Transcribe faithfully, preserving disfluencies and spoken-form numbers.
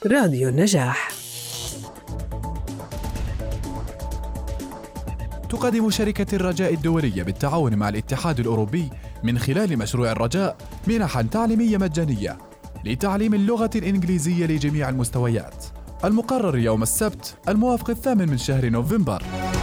راديو النجاح. تقدم شركة الرجاء الدولية بالتعاون مع الاتحاد الأوروبي من خلال مشروع الرجاء منحاً تعليمية مجانية لتعليم اللغة الإنجليزية لجميع المستويات، المقرر يوم السبت الموافق الثامن من شهر نوفمبر.